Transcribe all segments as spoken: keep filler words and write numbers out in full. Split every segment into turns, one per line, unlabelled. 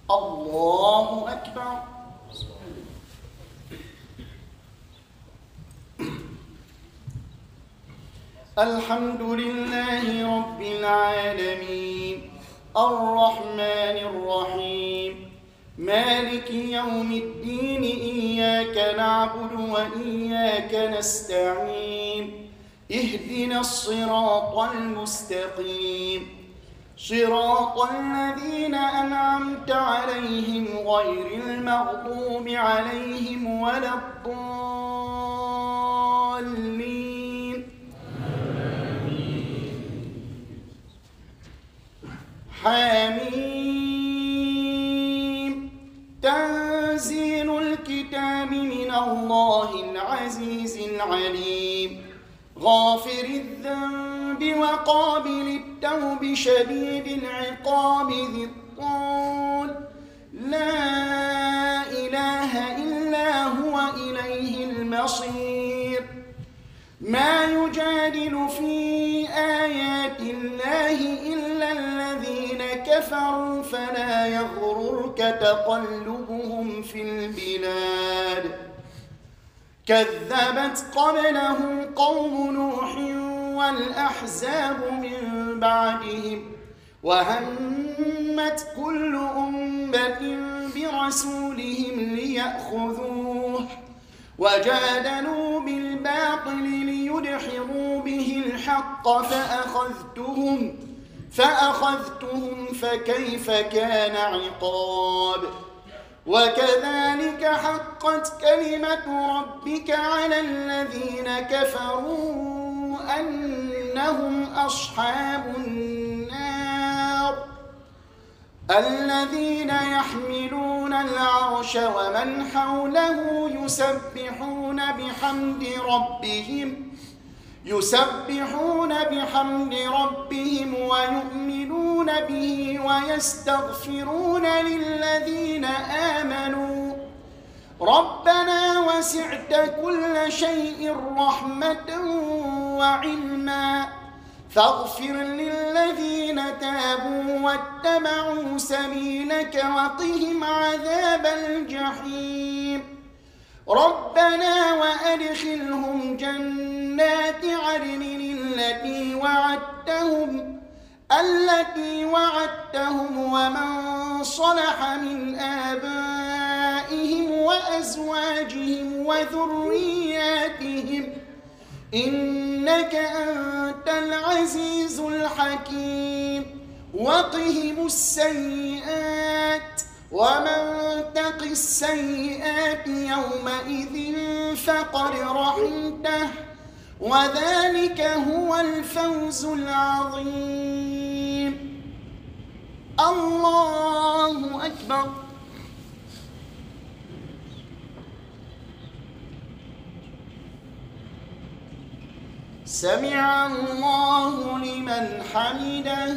الله أكبر. الحمد لله رب العالمين الرحمن الرحيم مالك يوم الدين إياك نعبد وإياك نستعين اهدنا الصراط المستقيم صراط الذين أنعمت عليهم غير المغضوب عليهم ولا الضالين. حميم تنزيل الكتاب من الله العزيز العليم غافر الذنب وقابل التوب شديد العقاب ذي الطول لا إله إلا هو إليه المصير. ما يجادل في آيات الله إلا الذين كفروا فلا يغررك تقلبهم في البلاد. كذبت قبلهم قوم نوح والأحزاب من بعدهم وهمت كل أمة برسولهم ليأخذوه وجادلوا بالباطل ليدحضوا به الحق فأخذتهم فأخذتهم فكيف كان عقاب. وكذلك حقت كلمة ربك على الذين كفروا أنهم أصحاب النار الذين يحملون العرش ومن حوله يسبحون بحمد ربهم يسبحون بحمد ربهم ويؤمنون به ويستغفرون للذين آمنوا ربنا وسعت كل شيء رحمة وعلما فاغفر للذين تابوا واتبعوا سبيلك وقهم عذاب الجحيم. ربنا وأدخلهم جنات عدن التي وعدتهم التي وعدتهم ومن صلح من آبائهم وأزواجهم وذرياتهم إنك أنت العزيز الحكيم. وقهم السيئات ومن تق السيئات يومئذ فقد رحمته وذلك هو الفوز العظيم. الله أكبر. سمع الله لمن حمده.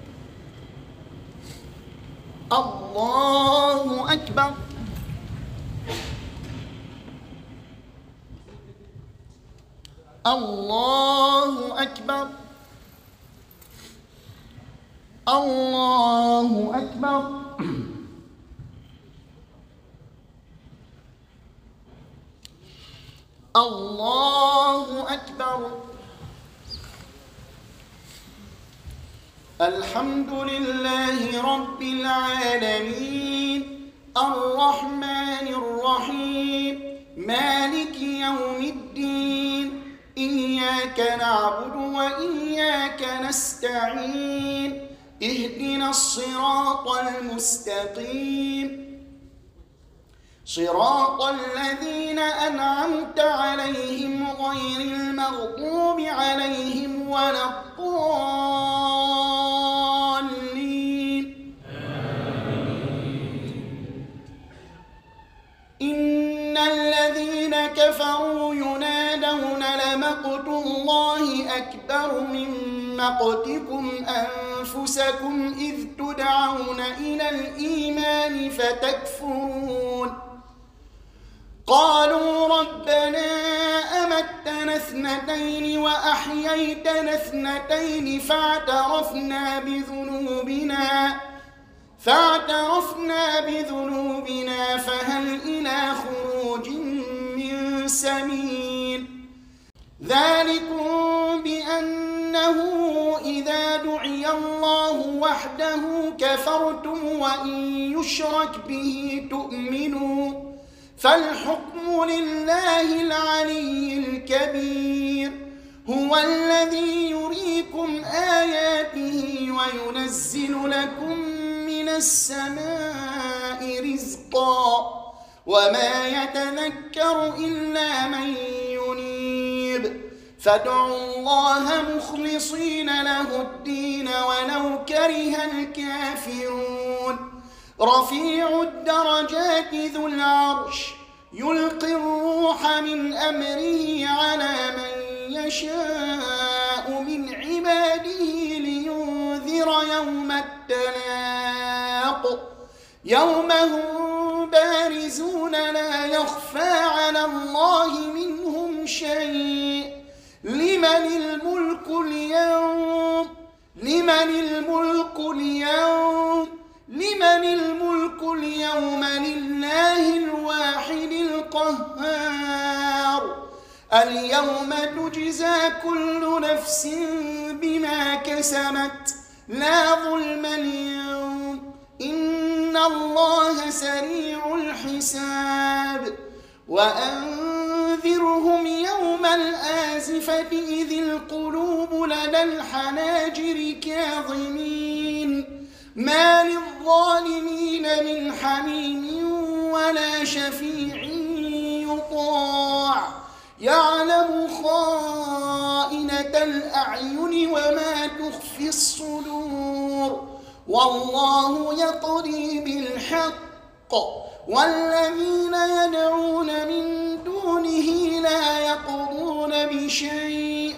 الله أكبر. الله أكبر. الله أكبر. الله أكبر. الحمد لله رب العالمين الرحمن الرحيم مالك يوم الدين إياك نعبد وإياك نستعين اهدنا الصراط المستقيم صراط الذين أنعمت عليهم غير المغضوب عليهم ولا الضالين. إن الذين كفروا ينادون لمقت الله أكبر من مقتكم أنفسكم إذ تدعون إلى الإيمان فتكفرون قالوا ربنا أمتنا اثنتين وأحييتنا اثنتين فاعترفنا بذنوبنا فاعترفنا سمين. ذلكم بأنه إذا دعي الله وحده كفرتم وإن يشرك به تؤمنوا فالحكم لله العلي الكبير. هو الذي يريكم آياته وينزل لكم من السماء رزقا وما يتذكر إلا من ينيب فادعوا الله مخلصين له الدين ولو كره الكافرون. رفيع الدرجات ذو العرش يلقي الروح من أمره على من يشاء من عباده لينذر يوم التلاق يوم هم بارزون لا يخفى على الله منهم شيء. لمن الملك اليوم لمن الملك اليوم لمن الملك اليوم لله الواحد القهار. اليوم تجزى كل نفس بما كسبت لا ظلم اليوم إن الله سريع الحساب. وأنذرهم يوم الآزفة إذ القلوب لدى الحناجر كاظمين ما للظالمين من حميم ولا شفيع يطاع يعلم خائنة الأعين وما تخفي الصدور والله يقضي بالحق والذين يدعون من دونه لا يقضون بشيء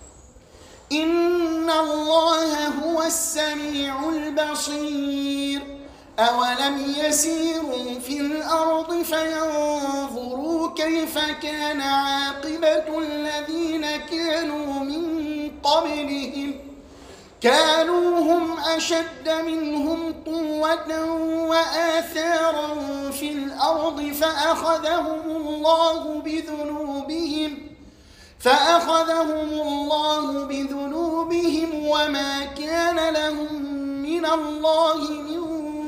إن الله هو السميع البصير. أولم يسيروا في الأرض فينظروا كيف كان عاقبة الذين كانوا من قبلهم كانوا هم أشد منهم قوة وآثارا في الأرض فأخذهم الله بذنوبهم فأخذهم الله بذنوبهم وما كان لهم من الله من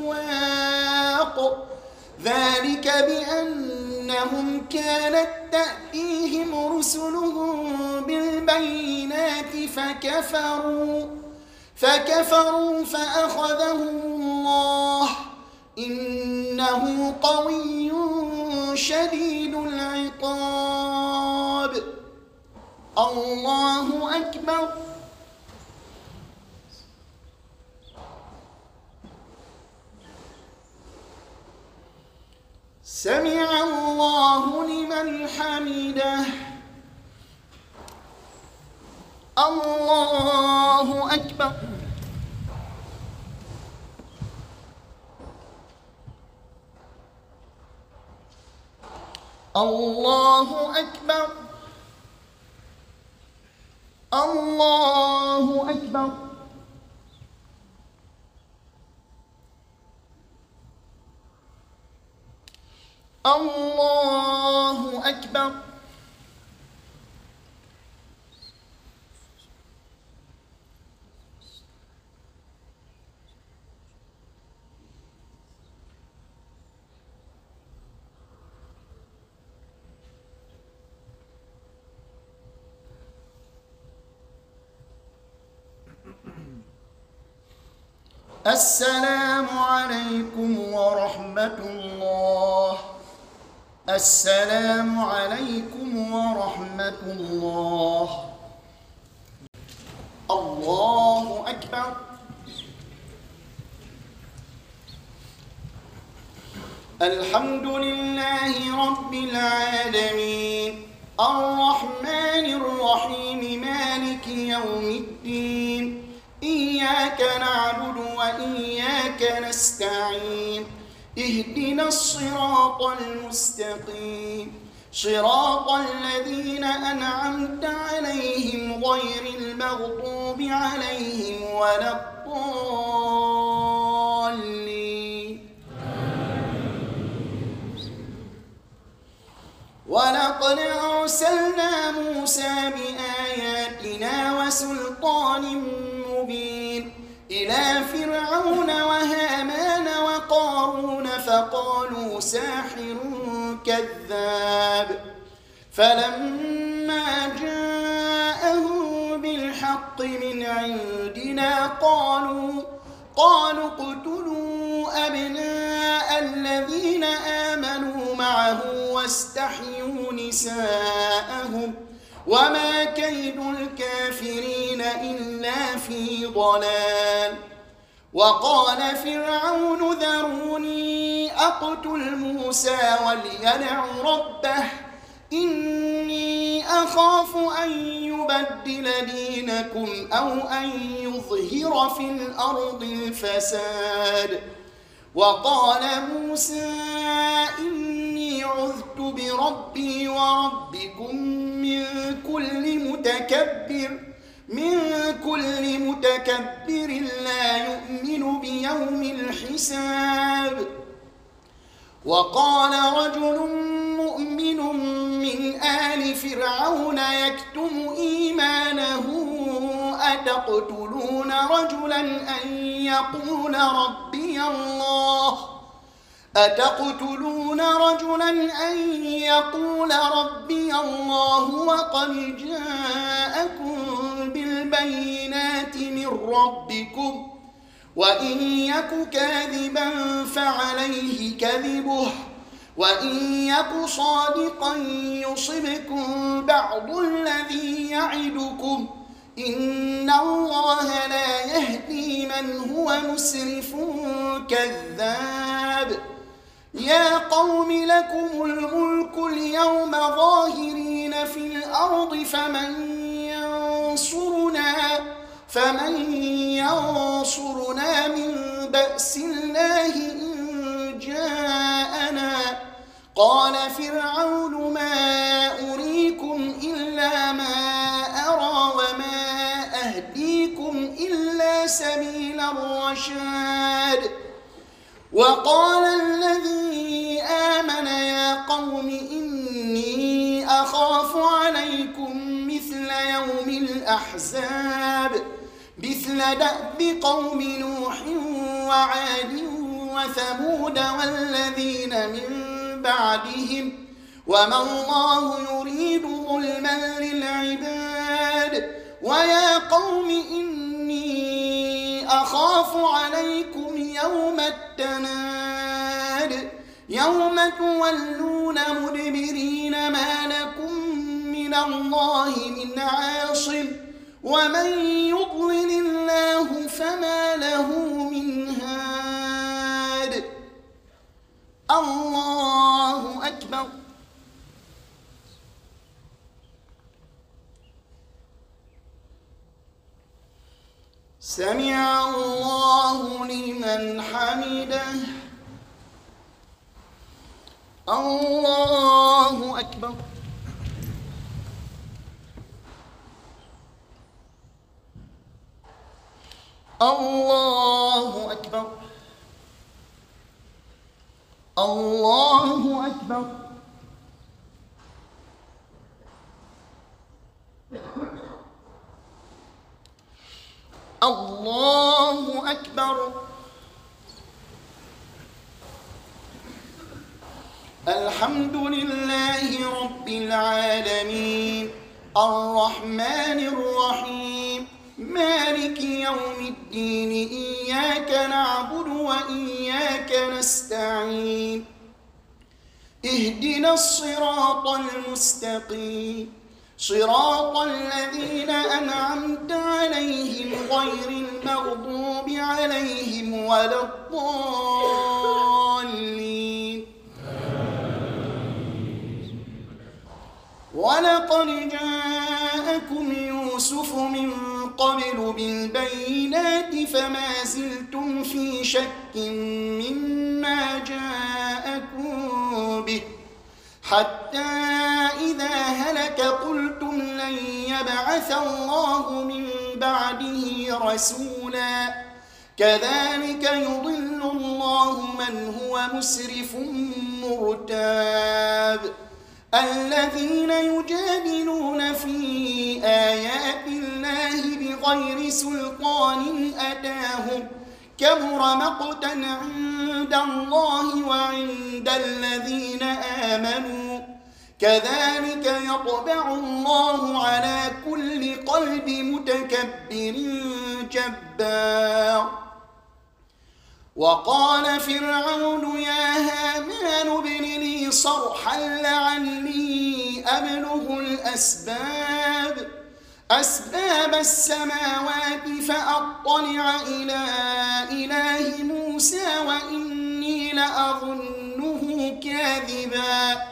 واق. ذلك بأنهم كانت تأتيهم رسلهم بالبينات فكفروا فكفروا فأخذهم الله إنه قوي شديد العقاب. الله أكبر. سمع الله لمن حمده. الله أكبر. الله أكبر. الله أكبر. الله أكبر. السلام عليكم ورحمة الله. السلام عليكم ورحمة الله. الله أكبر. الحمد لله رب العالمين الرحمن الرحيم مالك يوم الدين إياك نعبد وإياك نستعين اهدنا الصراط المستقيم صراط الذين أنعمت عليهم غير المغضوب عليهم ولا الضالين ولا ولقد أرسلنا موسى بآياتنا وسلطان مبين إلى فرعون وهامان وقارون فقالوا ساحر كذاب فلما جاءهم بالحق من عندنا قالوا قالوا اقتلوا أبناء الذين آمنوا معه واستحيوا نساءهم وما كيد الكافرين إلا في ضلال. وقال فرعون ذروني أقتل موسى وليدع ربه إني أخاف أن يبدل دينكم أو أن يظهر في الأرض الفساد. وقال موسى إني عذت بربي وربكم من كل متكبر من كل متكبر لا يؤمن بيوم الحساب. وقال رجل مؤمن من آل فرعون يكتم إيمانه أتقتلون رجلا أن يقول ربي الله أتقتلون رجلا أن يقول ربي الله وقد جاءكم بالبينات من ربكم وإن يك كاذبا فعليه كذبه وإن يك صادقا يصبكم بعض الذي يعدكم إن الله لا يهدي من هو مسرف كذاب. يا قوم لكم الملك اليوم ظاهرين في الأرض فمن ينصرنا فمن ينصرنا من بأس الله إن جاءنا. قال فرعون ما أريكم إلا ما أرى وما أهديكم إلا سبيل الرشاد. وقال الذي آمن يا قوم إني أخاف عليكم مثل يوم الأحزاب مثل دأب قوم نوح وعاد وثمود والذين من بعدهم وما الله يريد ظلما للعباد. ويا قوم إني أخاف عليكم يوم التناد يوم تولون مدبرين ما لكم من الله من عاصم ومن يضلل الله فما له من هاد. الله أكبر. سمع الله لمن حمده. الله أكبر. الله أكبر. الله أكبر. الله أكبر. الحمد لله رب العالمين الرحمن الرحيم مالك يوم الدين إياك نعبد وإياك نستعين اهدنا الصراط المستقيم صراط الذين أنعمت عليهم غير المغضوب عليهم ولا الضالين. ولقد جاءكم يوسف من قبل بالبينات فما زلتم في شك مما جاءكم به حتى إذا هلك قلتم لن يبعث الله من بعده رسولا كذلك يضل الله من هو مسرف مرتاب. الذين يجادلون في آيات الله بغير سلطان أتاهم كبر مقتا عند الله وعند الذين آمنوا كذلك يطبع الله على كل قلب متكبر جبار. وقال فرعون يا هامان ابن لي صرحا لعلي أبلغ الأسباب أسباب السماوات فأطلع إلى إله موسى وإني لأظنه كاذبا.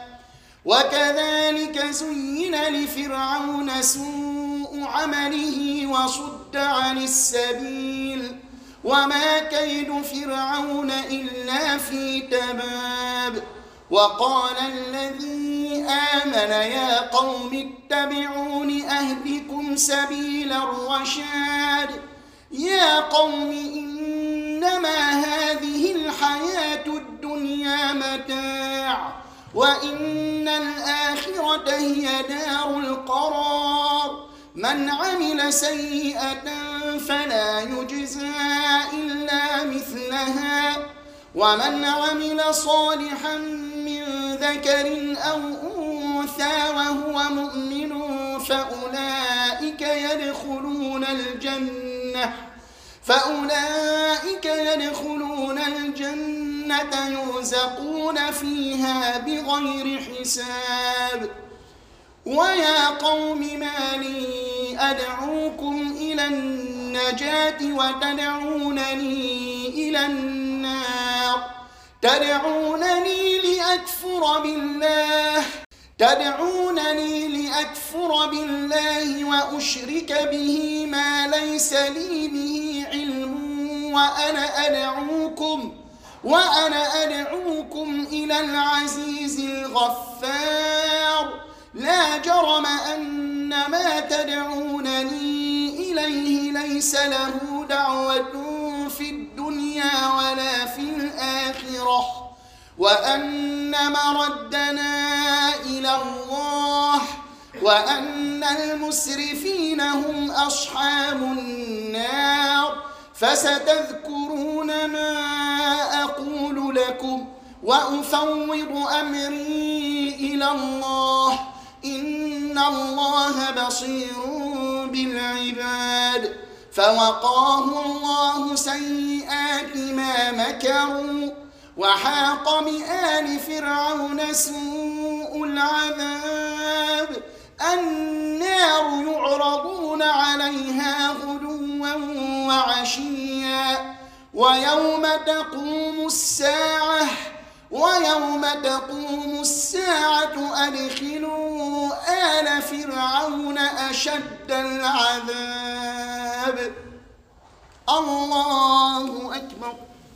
وكذلك زين لفرعون سوء عمله وصد عن السبيل وما كيد فرعون إلا في تباب. وقال الذي آمن يا قوم اتبعون أهدكم سبيل الرشاد. يا قوم إنما هذه الحياة الدنيا متاع وإن الآخرة هي دار القرار. من عمل سيئة فلا يجزى إلا مثلها ومن عمل صالحا من ذكر أو أنثى وهو مؤمن فأولئك يدخلون الجنة فأولئك يدخلون الجنة يرزقون فيها بغير حساب. ويا قوم ما لي أدعوكم إلى النجاة وتدعونني إلى النار تدعونني لأكفر بالله تدعونني لأكفر بالله وأشرك به ما ليس لي به علم وأنا أدعوكم وأنا أدعوكم إلى العزيز الغفار. لا جرم أن ما تدعونني إليه ليس له دعوة في الدنيا ولا في الآخرة وأن مردنا إلى الله وأن المسرفين هم أصحاب النار. فستذكرون ما أقول لكم وأفوض أمري إلى الله إن الله بصير بالعباد. فوقاه الله سيئات ما مكروا وحاق بآل فرعون سوء العذاب. النار يعرضون عليها غدوا وعشيا ويوم تقوم الساعة ويوم تقوم الساعة أدخلوا آل فرعون أشد العذاب. الله أكبر.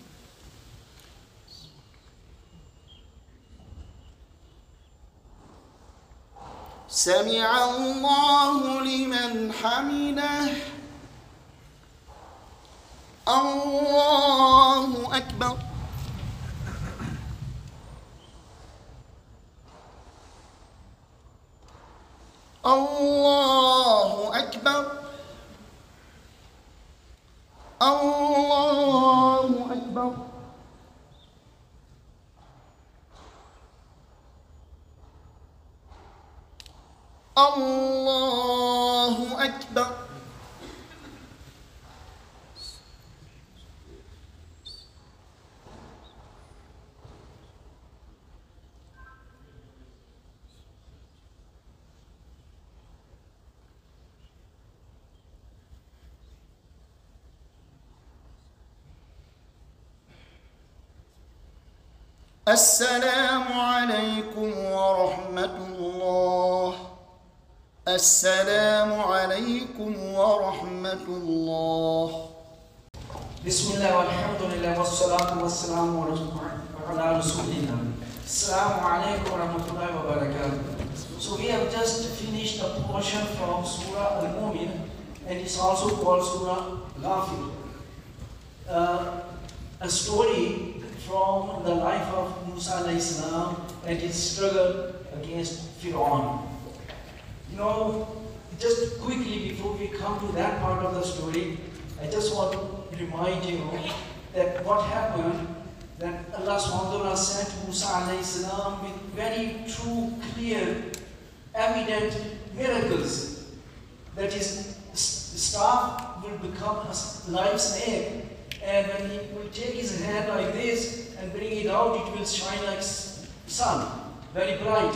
سمع الله لمن حمده. الله أكبر. الله أكبر. الله أكبر. الله أكبر. السلام عليكم ورحمة الله. السلام عليكم ورحمة الله.
بسم الله والحمد لله والصلاة والسلام على رسول الله. السلام عليكم ورحمة الله وبركاته. So we have just finished a portion from Surah Al-Mu'min, and it's also called Surah Ghafir. Uh, a story from the life of Musa alayhi salam and his struggle against Fir'aun. You know, just quickly before we come to that part of the story, I just want to remind you that what happened, that Allah subhanahu wa ta'ala sent Musa alayhi salam with very true, clear, evident miracles. That his staff will become a live snake, and when he will take his hand like this and bring it out, it will shine like sun, very bright.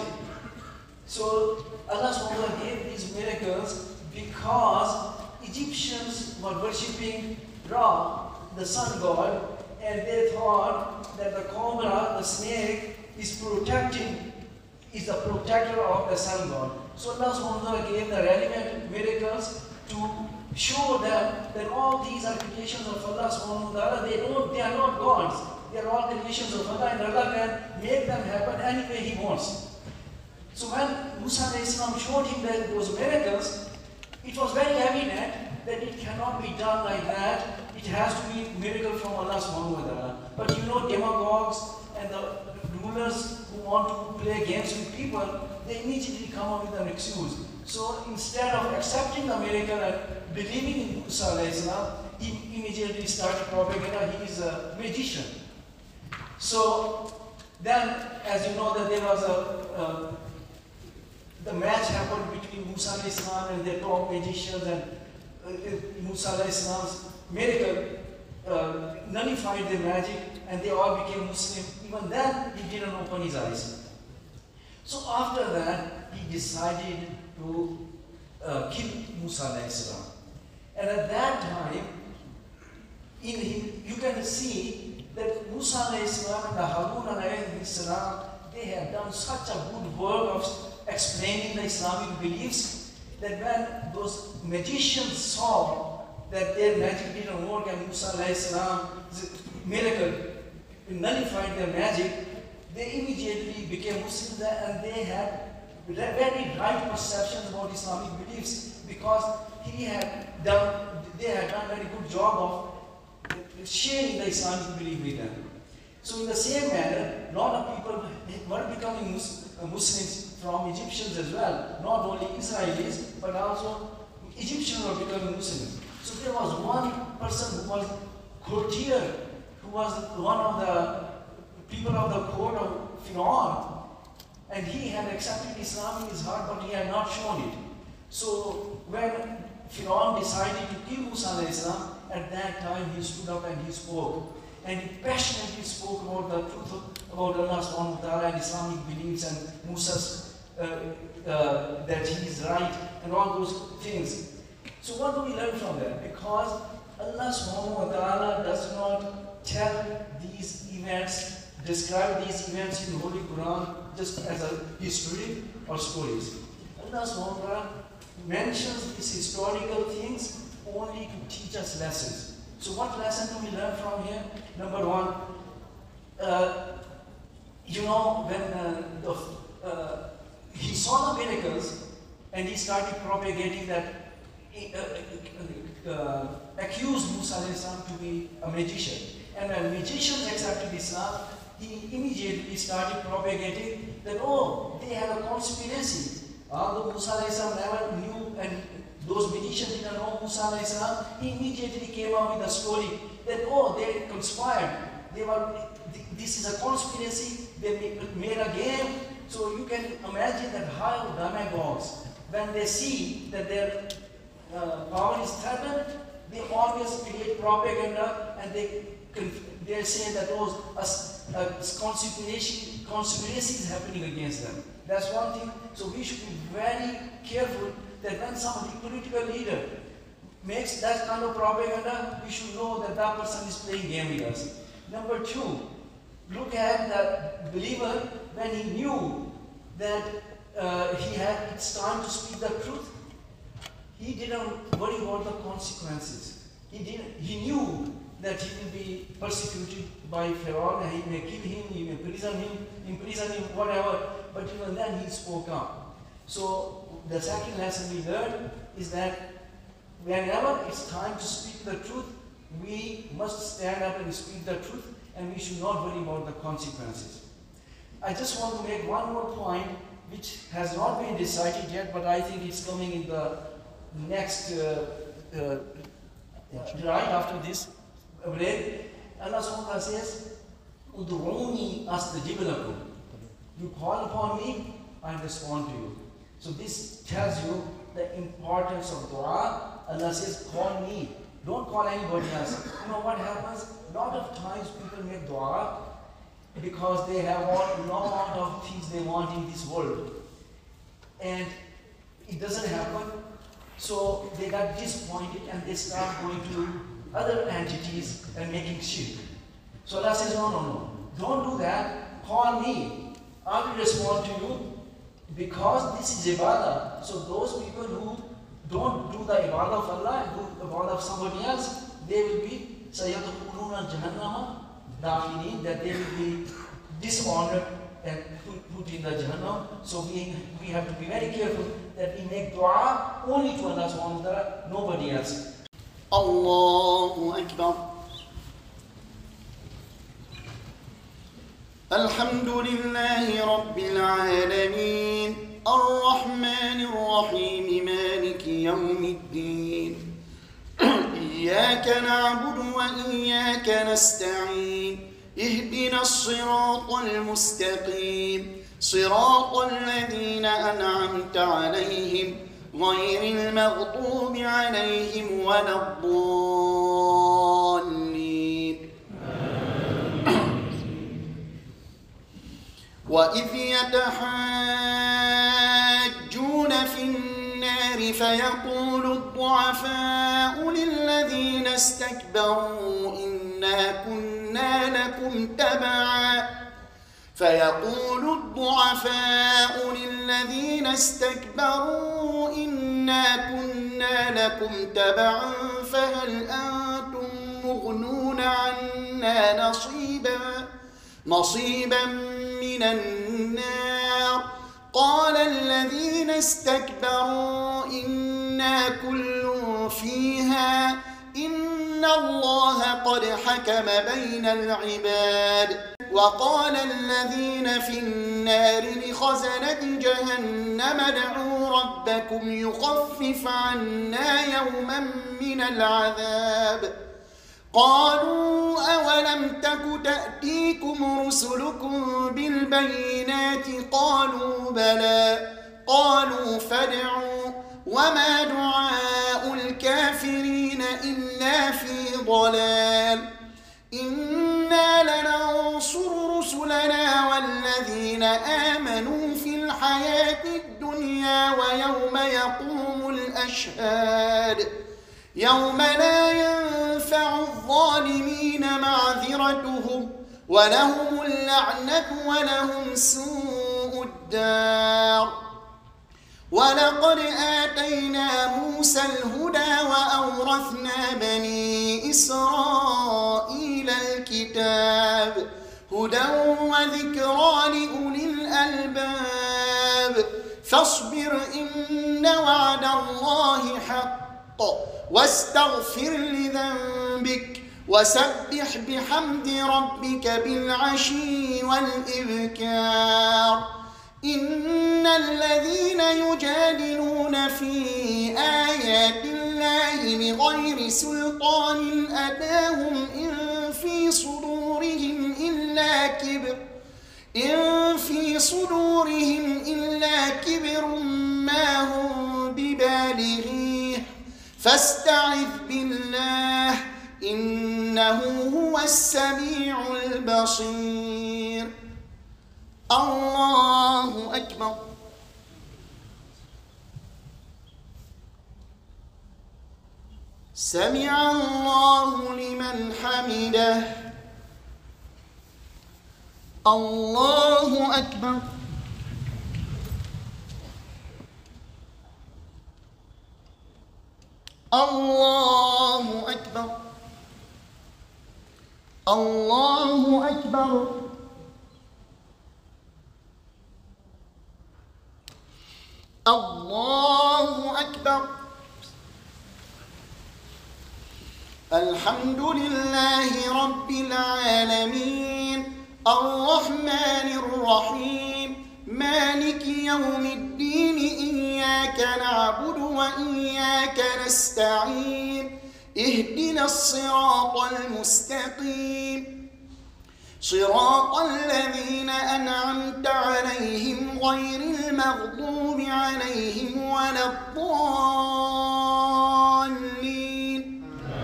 So Allah subhanahu wa ta'ala gave these miracles because Egyptians were worshipping Ra, the sun god, and they thought that the cobra, the snake, is protecting, is the protector of the sun god. So Allah subhanahu wa ta'ala gave the relevant miracles to show them that all these are creations of Allah subhanahu wa ta'ala. They don't, they are not gods. They are all creations of Allah, and Allah can make them happen any way He wants. So when Musa alayhi salam showed him that those miracles, it was very evident that it cannot be done like that. It has to be a miracle from Allah subhanahu wa ta'ala. But you know, demagogues and the rulers who want to play games with people, they immediately come up with an excuse. So instead of accepting the miracle and believing in Musa alayhi salam, he immediately started propaganda. He is a magician. So then, as you know, that there was a uh, the match happened between Musa alayhi salam and their top magicians, and uh, Musa alayhi salam's miracle uh, nullified their magic, and they all became Muslim. Even then, he didn't open his eyes. So after that, he decided to uh, kill Musa alayhi salam. And at that time, in him, you can see that Musa alayhi salam and Harun alayhi salam, they had done such a good work of explaining the Islamic beliefs that when those magicians saw that their magic didn't work and Musa alayhi salam's miracle nullified their magic, they immediately became Muslims, and they had very right perceptions about Islamic beliefs because he had done, they had done a very good job of sharing the Islamic belief with them. So in the same manner, a lot of people were becoming Muslims from Egyptians as well, not only Israelis, but also Egyptians were becoming Muslims. So there was one person who was courtier, who was one of the people of the court of Fir'aun, and he had accepted Islam in his heart, but he had not shown it. So when Fir'aun decided to kill Musa alayhi salam, at that time he stood up and he spoke. And he passionately spoke about the truth of, about Allah subhanahu wa ta'ala and Islamic beliefs and Musa's, uh, uh, that he is right and all those things. So what do we learn from that? Because Allah subhanahu wa ta'ala does not tell these events, describe these events in the Holy Quran just as a history or stories. Allah subhanahu wa ta'ala mentions these historical things only to teach us lessons. So what lesson do we learn from here? Number one, uh, you know, when uh, the, uh, he saw the miracles and he started propagating that, uh, uh, accused Musa alayhi salam to be a magician. And when magicians accepted Islam, he immediately started propagating that, oh, they have a conspiracy. Although Musa alayhi salam never knew, and those magicians didn't know Musa alayhi salam, he immediately came out with a story that, oh, they conspired. They were, this is a conspiracy, they made a game. So you can imagine that how demagogues, when they see that their uh, power is threatened, they always create propaganda, and they they say that those uh, uh, conspiracy, conspiracy is happening against them. That's one thing. So we should be very careful that when somebody, political leader, makes that kind of propaganda, we should know that that person is playing game with us. Number two, look at the believer when he knew that uh, he had, it's time to speak the truth. He didn't worry about the consequences. He didn't. He knew that he will be persecuted by Pharaoh, and he may kill him, he may prison him, imprison him, whatever. But even then he spoke up. So the second lesson we learned is that whenever it's time to speak the truth, we must stand up and speak the truth. and we should not worry about the consequences. I just want to make one more point which has not been decided yet, but I think it's coming in the next, uh, uh, right after this break. Allah subhanahu wa ta'ala says, Ud'uni astajib lakum. You call upon me, I respond to you. So this tells you the importance of dua. Allah says, call me. Don't call anybody else. You know what happens? A lot of times people make dua because they have all no amount of things they want in this world. And it doesn't happen. So they got disappointed and they start going to other entities and making shirk. So Allah says, no, no, no. Don't do that. Call me. I will respond to you because this is ibadah. So those people who don't do the ibadah of Allah and do the ibadah of somebody else, they will be sayadkhuluna jahannama dakhilin, that they will be dishonored and put, put in the Jahannam. So we, we have to be very careful that we make dua only to Allah subhanahu wa ta'ala, nobody else.
Allahu Akbar. Alhamdulillahi Rabbil Alameen, Ar-Rahman Ar-Rahim, Maliki Yawmiddin. إياك نعبد وإياك نستعين اهدنا الصراط المستقيم صراط الذين أنعمت عليهم غير المغضوب عليهم ولا الضالين. وإذ يتحاجون في النار فيقول الضعفاء للذين استكبروا إنا كنا لكم تبعا فيقول الضعفاء للذين استكبروا إنا كنا لكم تبعا فهل أنتم مغنون عنا نصيبا نصيبا من النار قال الذين استكبروا إنا كل فيها إن الله قد حكم بين العباد. وقال الذين في النار لخزنة جهنم ادعوا ربكم يخفف عنا يوما من العذاب قالوا أولم تك تأتيكم رسلكم بالبينات قالوا بلى قالوا فادعوا وما دعاء الكافرين إلا في ضلال إنا لننصر رسلنا والذين آمنوا في الحياة الدنيا ويوم يقوم الأشهاد يوم لا ينفع الظالمين معذرتهم ولهم اللعنة ولهم سوء الدار. ولقد آتينا موسى الهدى وأورثنا بني إسرائيل الكتاب هدى وذكرى لأولي الألباب فاصبر إن وعد الله حق واستغفر لذنبك وسبح بحمد ربك بالعشي والإبكار. إن الذين يجادلون في آيات الله بغير سلطان أتاهم إن في صدورهم إلا كبر إن في صدورهم إلا كبر ما هم ببالغيه فاستعذ بالله إنه هو السميع البصير. الله أكبر. سمع الله لمن حمده. الله أكبر. الله أكبر. الله أكبر. الله أكبر. الحمد لله رب العالمين الرحمن الرحيم مالك يوم الدين إياك نعبد وإياك نستعين اهدنا الصراط المستقيم صراط الذين أنعمت عليهم غير المغضوب عليهم ولا الضالين.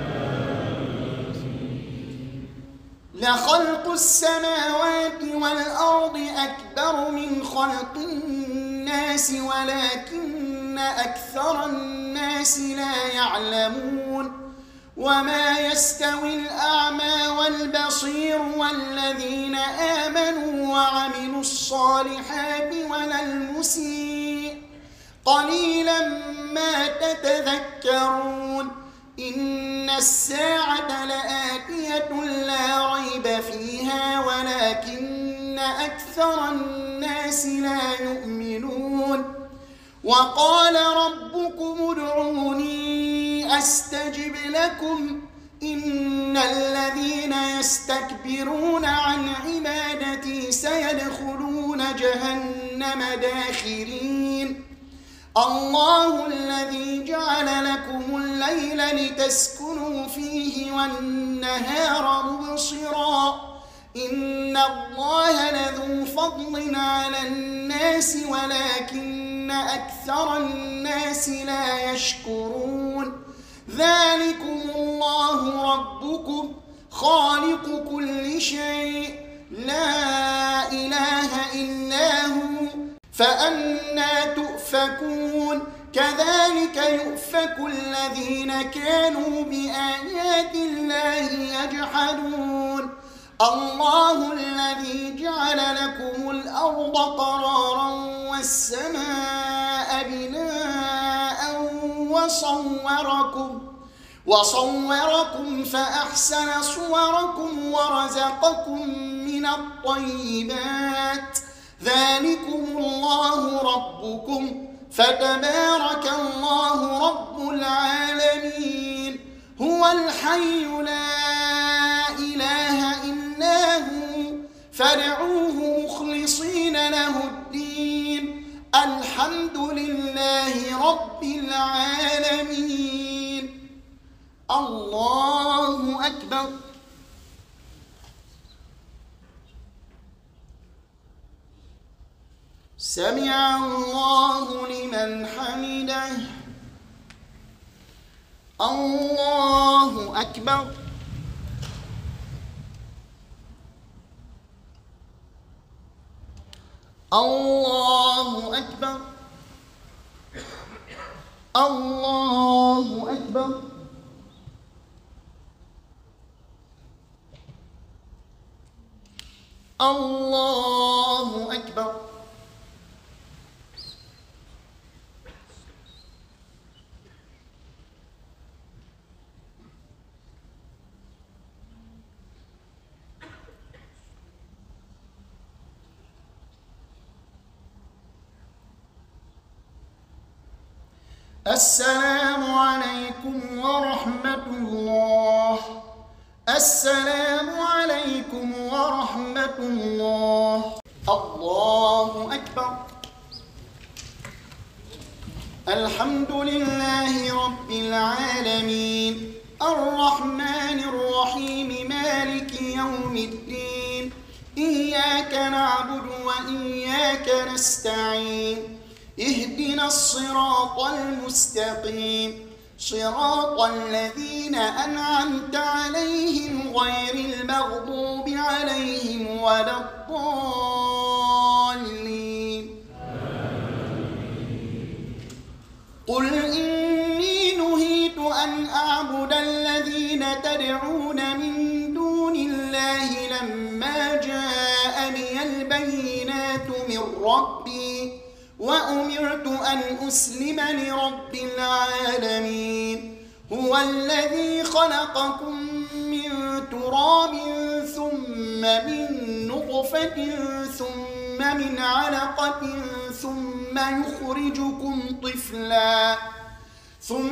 لخلق السماوات والأرض أكبر من خلق الناس ولكن أكثر الناس لا يعلمون. وما يستوي الأعمى والبصير والذين آمنوا وعملوا الصالحات ولا المسيء قليلا ما تتذكرون. إن الساعة لآتية لا ريب فيها ولكن أكثر الناس لا يؤمنون. وقال ربكم ادعوني أستجب لكم إن الذين يستكبرون عن عبادتي سيدخلون جهنم داخرين. الله الذي جعل لكم الليل لتسكنوا فيه والنهار مبصرا إن الله لذو فضل على الناس ولكن أكثر الناس لا يشكرون. ذلكم الله ربكم خالق كل شيء لا إله إلا هو فأنى تؤفكون. كذلك يؤفك الذين كانوا بآيات الله يجحدون. الله الذي جعل لكم الأرض قرارا والسماء بناء وصوركم وصوركم فأحسن صوركم ورزقكم من الطيبات. ذلكم الله ربكم فتبارك الله رب العالمين. هو الحي لا إله إلا هو فادعوه مخلصين له الدين الحمد لله رب العالمين. الله أكبر. سمع الله لمن حمده. الله أكبر. الله أكبر. الله أكبر. الله أكبر. السلام عليكم ورحمة الله. السلام عليكم ورحمة الله. الله أكبر. الحمد لله رب العالمين الرحمن الرحيم مالك يوم الدين إياك نعبد وإياك نستعين اهدنا الصراط المستقيم صراط الذين أنعمت عليهم غير المغضوب عليهم ولا الضالين. قل إني نهيت أن أعبد الذين تدعون من دون الله لما جاءني البينات من ربي وأمرت أن أسلم لرب العالمين. هو الذي خلقكم من تراب ثم من نطفة ثم من علقة ثم يخرجكم طفلا ثم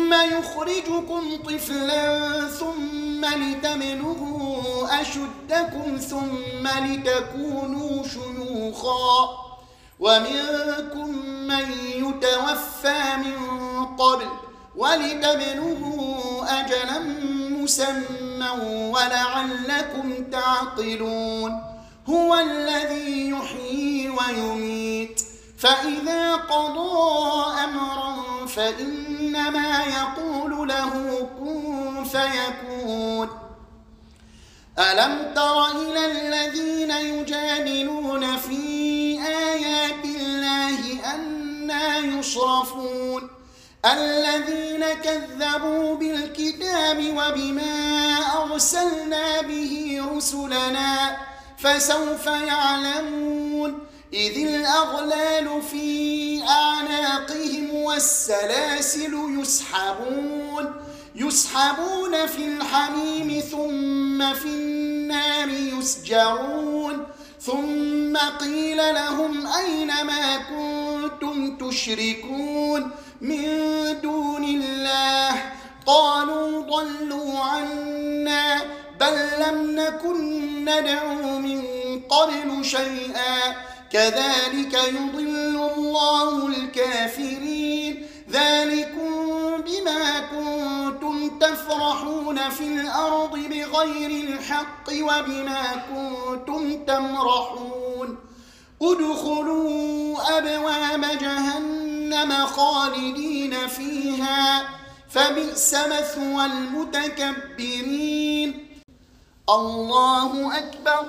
ثم يخرجكم طفلا ثم لتبلغوا أشدكم ثم لتكونوا شيوخا ومنكم من يتوفى من قبل ولتبلغوا أجلا مسمى ولعلكم تعقلون هو الذي يحيي ويميت فإذا قضى أمرا فإنما يقول له كن فيكون ألم تر إلى الذين يجادلون في آيات الله أنى يصرفون الذين كذبوا بالكتاب وبما أرسلنا به رسلنا فسوف يعلمون إذ الأغلال في أعناقهم والسلاسل يسحبون يسحبون في الحميم ثم في النار يسجرون ثم قيل لهم أين ما كنتم تشركون من دون الله قالوا ضلوا عنا بل لم نكن ندعو من قبل شيئا كذلك يضل الله الكافرين ذلكم بما كنتم تفرحون في الأرض بغير الحق وبما كنتم تمرحون ادخلوا أبواب جهنم خالدين فيها فبئس مثوى المتكبرين الله أكبر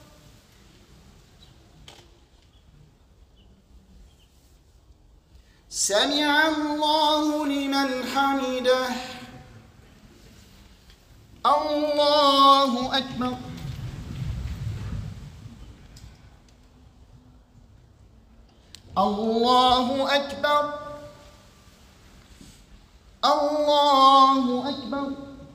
سمع الله لمن حمده الله أكبر الله أكبر الله أكبر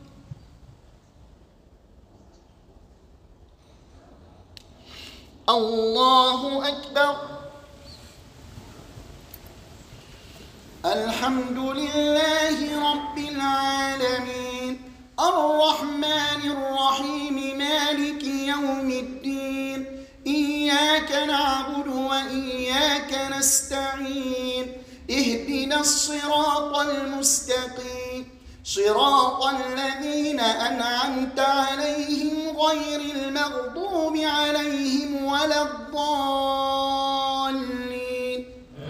الله أكبر الحمد لله رب العالمين الرحمن الرحيم مالك يوم الدين إياك نعبد وإياك نستعين اهدنا الصراط المستقيم صراط الذين أنعمت عليهم غير المغضوب عليهم ولا الضالين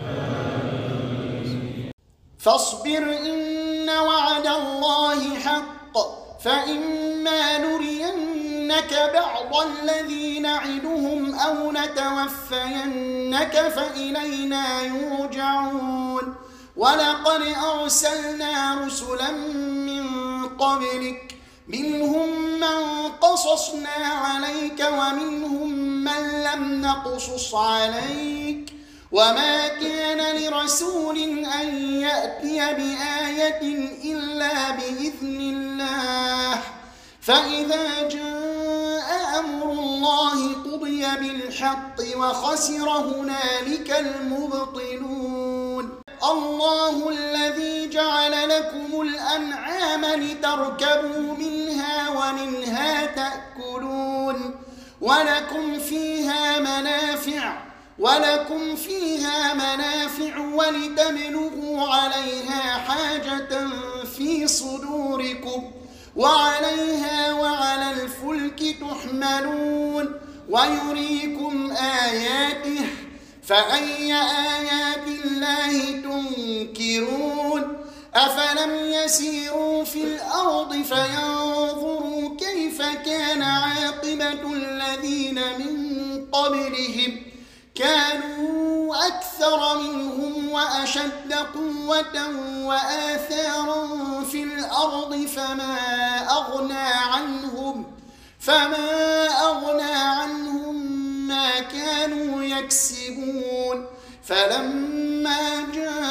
فاصبر إن وعد الله حق فإما نرينك بعض الذي نعدهم أو نتوفينك فإلينا يرجعون ولقد أرسلنا رسلا من قبلك منهم من قصصنا عليك ومنهم من لم نقصص عليك وما كان لرسول أن يأتي بآية إلا بإذن الله فإذا جاء أمر الله قضي بالحق وخسر هنالك المبطلون الله الذي جعل لكم الأنعام لتركبوا منها ومنها تأكلون ولكم فيها منافع ولكم فيها منافع ولتبلغوا عليها حاجة في صدوركم وعليها وعلى الفلك تحملون ويريكم آياته فأي آيات الله تنكرون أفلم يسيروا في الأرض فينظروا كيف كان عاقبة الذين من قبلهم كانوا أكثر منهم وأشد قوة وآثارا في الأرض فما أغنى عنهم فما أغنى عنهم ما كانوا يكسبون فلما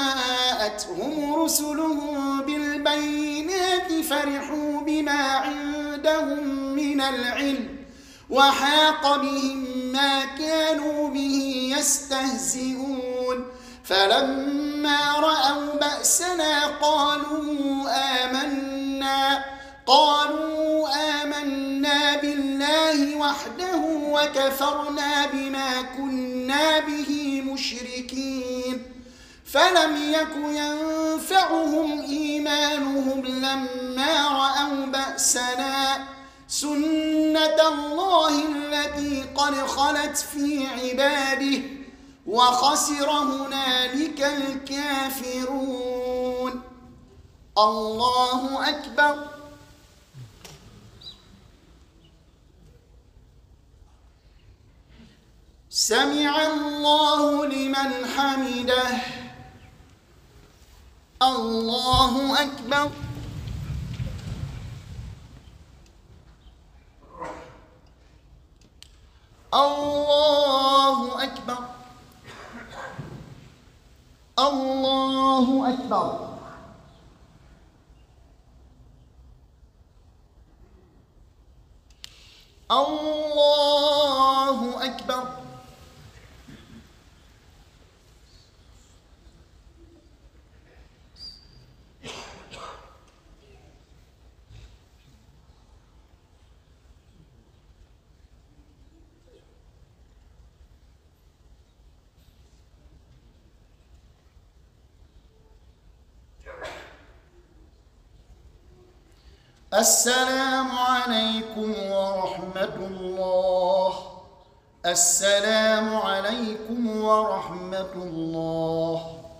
جاءتهم رسلهم بالبينات فرحوا بما عندهم من العلم وحاق بهم ما كانوا به يستهزئون فلما رأوا بأسنا قالوا آمنا قالوا آمنا بالله وحده وكفرنا بما كنا به مشركين فلم يك ينفعهم إيمانهم لما رأوا بأسنا سنة الله التي قد خلت في عباده وخسر هنالك الكافرون. الله أكبر. سمع الله لمن حمده. الله أكبر. الله أكبر. الله أكبر. الله أكبر. السلام عليكم ورحمة الله. السلام عليكم ورحمة الله.